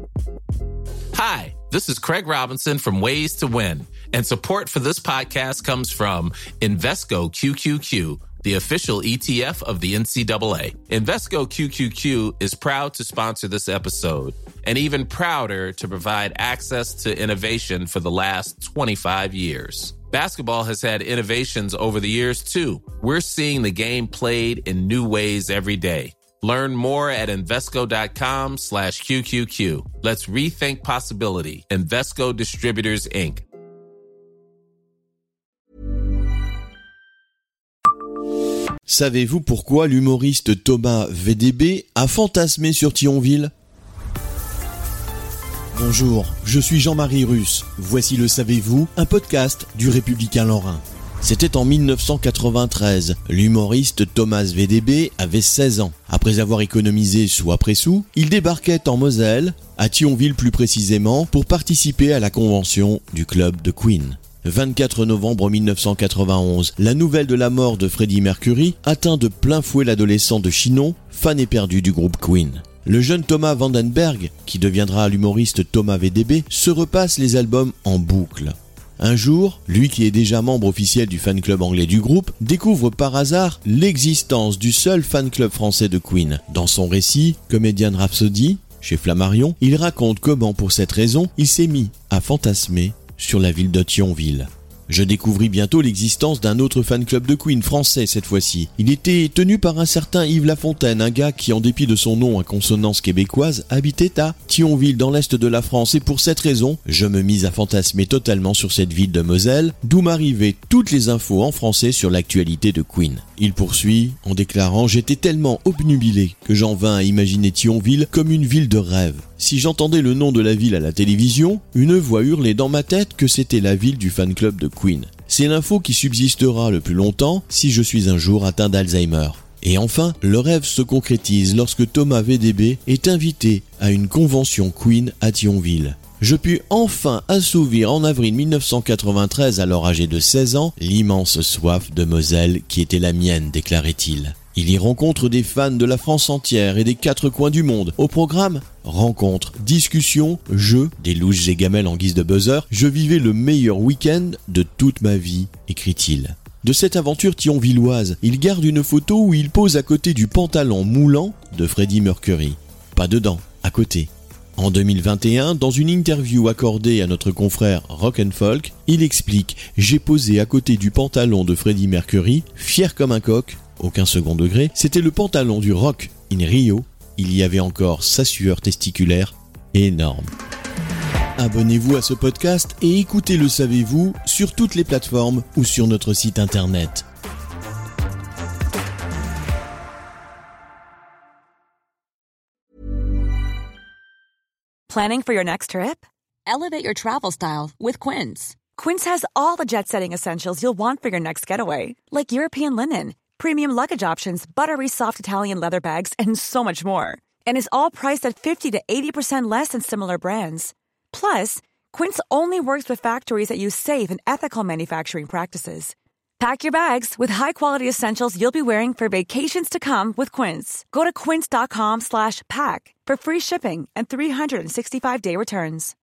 Hi, this is Craig Robinson from Ways to Win, and support for this podcast comes from Invesco QQQ, the official ETF of the NCAA. Invesco QQQ is proud to sponsor this episode, and even prouder to provide access to innovation for the last 25 years. Basketball has had innovations over the years, too. We're seeing the game played in new ways every day. Learn more at Invesco.com/QQQ. Let's rethink possibility. Invesco Distributors, Inc. Savez-vous pourquoi l'humoriste Thomas VDB a fantasmé sur Thionville ? Bonjour, je suis Jean-Marie Russe. Voici le Savez-vous, un podcast du Républicain Lorrain. C'était en 1993. L'humoriste Thomas VDB avait 16 ans. Après avoir économisé sou après sou, il débarquait en Moselle, à Thionville plus précisément, pour participer à la convention du club de Queen. 24 novembre 1991, la nouvelle de la mort de Freddie Mercury atteint de plein fouet l'adolescent de Chinon, fan éperdu du groupe Queen. Le jeune Thomas Vandenberg, qui deviendra l'humoriste Thomas VDB, se repasse les albums en boucle. Un jour, lui qui est déjà membre officiel du fan club anglais du groupe, découvre par hasard l'existence du seul fan club français de Queen. Dans son récit, Comedian Rhapsody, chez Flammarion, il raconte comment, pour cette raison, il s'est mis à fantasmer sur la ville de Thionville. Je découvris bientôt l'existence d'un autre fan club de Queen, français cette fois-ci. Il était tenu par un certain Yves Lafontaine, un gars qui, en dépit de son nom à consonance québécoise, habitait à Thionville, dans l'est de la France, et pour cette raison, je me mis à fantasmer totalement sur cette ville de Moselle, d'où m'arrivaient toutes les infos en français sur l'actualité de Queen. Il poursuit en déclarant « J'étais tellement obnubilé que j'en vins à imaginer Thionville comme une ville de rêve. Si j'entendais le nom de la ville à la télévision, une voix hurlait dans ma tête que c'était la ville du fan club de Queen. C'est l'info qui subsistera le plus longtemps si je suis un jour atteint d'Alzheimer. » Et enfin, le rêve se concrétise lorsque Thomas VDB est invité à une convention Queen à Thionville. Je pus enfin assouvir en avril 1993, alors âgé de 16 ans, l'immense soif de Moselle qui était la mienne, déclarait-il. Il y rencontre des fans de la France entière et des 4 coins du monde. Au programme, rencontres, discussions, jeux, des louches et gamelles en guise de buzzer. Je vivais le meilleur week-end de toute ma vie, écrit-il. De cette aventure thionvilloise, il garde une photo où il pose à côté du pantalon moulant de Freddie Mercury. Pas dedans, à côté. En 2021, dans une interview accordée à notre confrère Rock & Folk, il explique « J'ai posé à côté du pantalon de Freddie Mercury, fier comme un coq, aucun second degré, c'était le pantalon du Rock in Rio, il y avait encore sa sueur testiculaire énorme. » Abonnez-vous à ce podcast et écoutez Le Savez-vous sur toutes les plateformes ou sur notre site internet. Planning for your next trip? Elevate your travel style with Quince. Quince has all the jet-setting essentials you'll want for your next getaway, like European linen, premium luggage options, buttery soft Italian leather bags, and so much more. And is all priced at 50 to 80% less than similar brands. Plus, Quince only works with factories that use safe and ethical manufacturing practices. Pack your bags with high-quality essentials you'll be wearing for vacations to come with Quince. Go to quince.com/pack for free shipping and 365-day returns.